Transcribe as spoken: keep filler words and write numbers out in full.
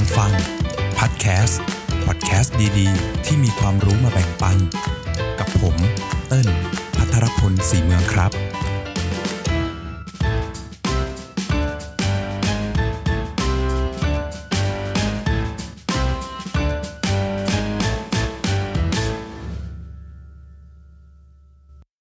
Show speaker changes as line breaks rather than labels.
ฟังพอดแคสต์พอดแคสต์ดีๆที่มีความรู้มาแบ่งปันกับผมเติ้ลภัทรพลศรีเมืองครับ